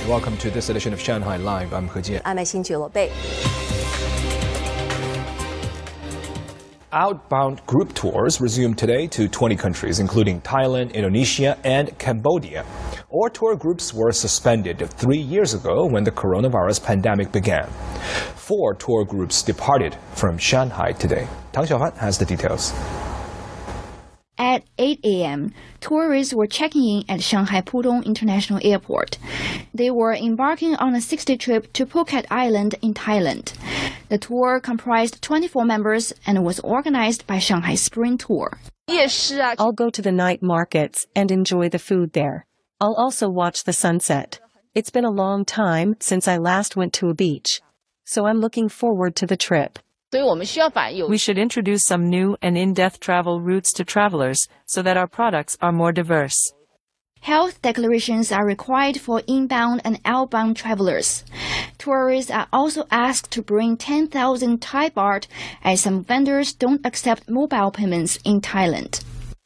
Welcome to this edition of Shanghai Live. I'm He Jian. I'm Xin Bei. Outbound group tours resumed today to 20 countries, including Thailand, Indonesia, and Cambodia. All tour groups were suspended 3 years ago when the coronavirus pandemic began. 4 tour groups departed from Shanghai today. Tang Xiaofan has the details. At 8 a.m., tourists were checking in at Shanghai Pudong International Airport. They were embarking on a 6-day trip to Phuket Island in Thailand. The tour comprised 24 members and was organized by Shanghai Spring Tour. I'll go to the night markets and enjoy the food there. I'll also watch the sunset. It's been a long time since I last went to a beach, so I'm looking forward to the trip. We should introduce some new and in-depth travel routes to travelers so that our products are more diverse. Health declarations are required for inbound and outbound travelers. Tourists are also asked to bring 10,000 Thai baht, as some vendors don't accept mobile payments in Thailand.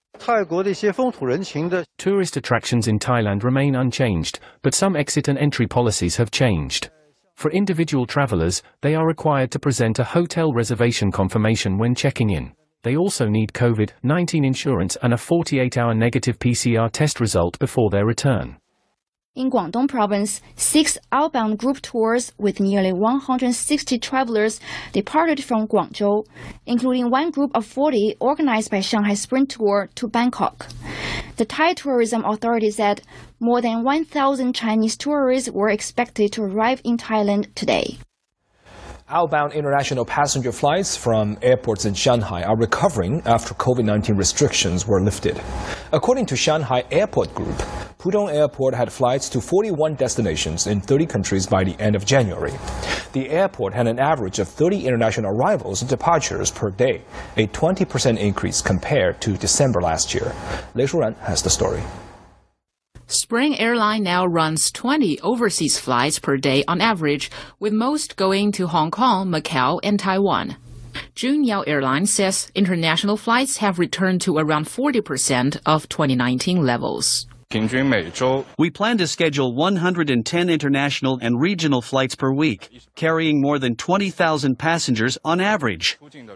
Tourist attractions in Thailand remain unchanged, but some exit and entry policies have changed. For individual travelers, they are required to present a hotel reservation confirmation when checking in. They also need COVID-19 insurance and a 48-hour negative PCR test result before their return. In Guangdong Province, 6 outbound group tours with nearly 160 travelers departed from Guangzhou, including one group of 40 organized by Shanghai Spring Tour to Bangkok. The Thai Tourism Authority said more than 1,000 Chinese tourists were expected to arrive in Thailand today. Outbound international passenger flights from airports in Shanghai are recovering after COVID-19 restrictions were lifted. According to Shanghai Airport Group, Pudong Airport had flights to 41 destinations in 30 countries by the end of January. The airport had an average of 30 international arrivals and departures per day, a 20% increase compared to December last year. Lei Shuran has the story. Spring Airline now runs 20 overseas flights per day on average, with most going to Hong Kong, Macau, and Taiwan. Junyao Airlines says international flights have returned to around 40% of 2019 levels. We plan to schedule 110 international and regional flights per week, carrying more than 20,000 passengers on average.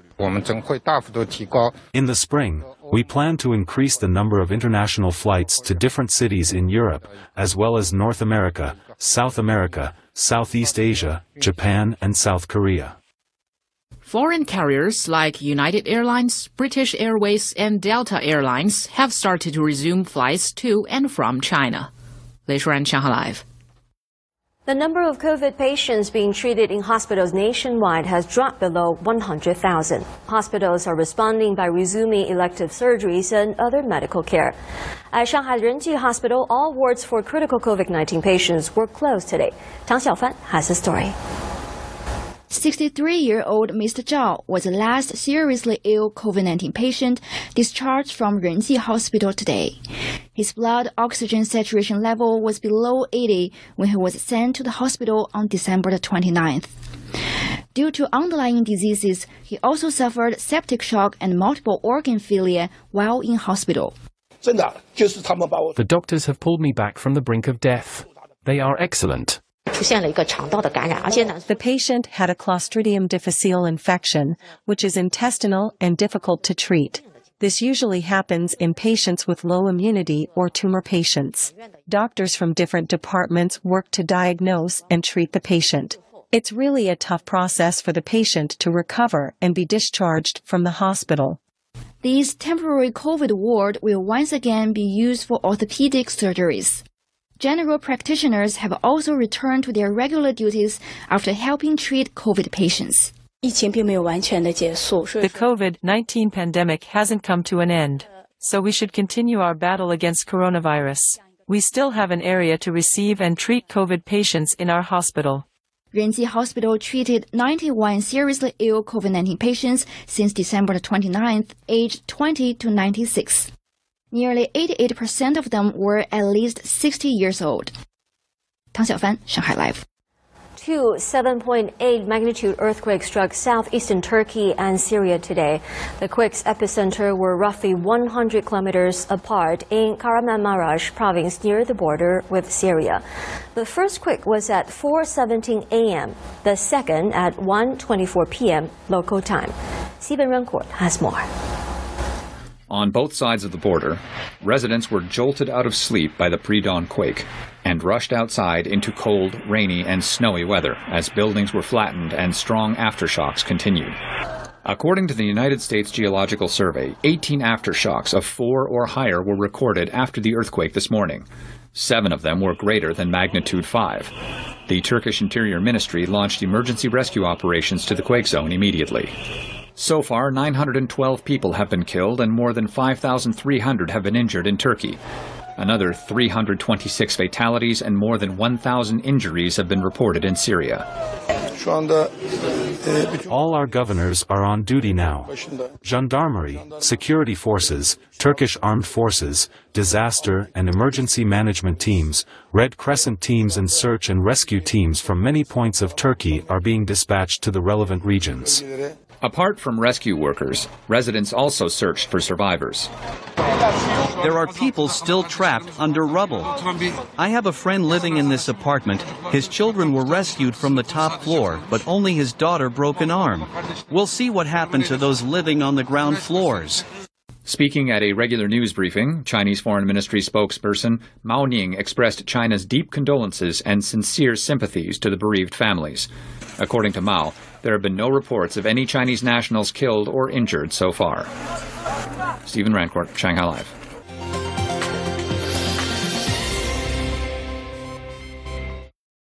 In the spring, we plan to increase the number of international flights to different cities in Europe, as well as North America, South America, Southeast Asia, Japan, and South Korea. Foreign carriers like United Airlines, British Airways, and Delta Airlines have started to resume flights to and from China. Lei Shuran, Shanghai Live. The number of COVID patients being treated in hospitals nationwide has dropped below 100,000. Hospitals are responding by resuming elective surgeries and other medical care. At Shanghai Renji Hospital, all wards for critical COVID-19 patients were closed today. Tang Xiaofan has the story. 63-year-old Mr. Zhao was the last seriously ill COVID-19 patient discharged from Renji Hospital today. His blood oxygen saturation level was below 80 when he was sent to the hospital on December the 29th. Due to underlying diseases, he also suffered septic shock and multiple organ failure while in hospital. The doctors have pulled me back from the brink of death. They are excellent. The patient had a Clostridium difficile infection, which is intestinal and difficult to treat. This usually happens in patients with low immunity or tumor patients. Doctors from different departments work to diagnose and treat the patient. It's really a tough process for the patient to recover and be discharged from the hospital. These temporary COVID ward will once again be used for orthopedic surgeries. General practitioners have also returned to their regular duties after helping treat COVID patients. The COVID-19 pandemic hasn't come to an end, so we should continue our battle against coronavirus. We still have an area to receive and treat COVID patients in our hospital. Renji Hospital treated 91 seriously ill COVID-19 patients since December 29th, aged 20 to 96. Nearly 88% of them were at least 60 years old. Tang Xiaofan, Shanghai Live. Two 7.8 magnitude earthquakes struck southeastern Turkey and Syria today. The quake's epicenter were roughly 100 kilometers apart in Kahramanmaraş province near the border with Syria. The first quake was at 4:17 a.m., the second at 1:24 p.m. local time. Stephen Runcourt has more. On both sides of the border, residents were jolted out of sleep by the pre-dawn quake and rushed outside into cold, rainy, and snowy weather as buildings were flattened and strong aftershocks continued. According to the United States Geological Survey, 18 aftershocks of 4 or higher were recorded after the earthquake this morning. 7 of them were greater than magnitude 5. The Turkish Interior Ministry launched emergency rescue operations to the quake zone immediately. So far, 912 people have been killed and more than 5,300 have been injured in Turkey. Another 326 fatalities and more than 1,000 injuries have been reported in Syria. All our governors are on duty now. Gendarmerie, security forces, Turkish armed forces, disaster and emergency management teams, Red Crescent teams and search and rescue teams from many points of Turkey are being dispatched to the relevant regions. Apart from rescue workers, residents also searched for survivors. There are people still trapped under rubble. I have a friend living in this apartment. His children were rescued from the top floor, but only his daughter broke an arm. We'll see what happened to those living on the ground floors. Speaking at a regular news briefing, Chinese Foreign Ministry spokesperson Mao Ning expressed China's deep condolences and sincere sympathies to the bereaved families. According to Mao, there have been no reports of any Chinese nationals killed or injured so far. Stephen Rancourt, Shanghai Live.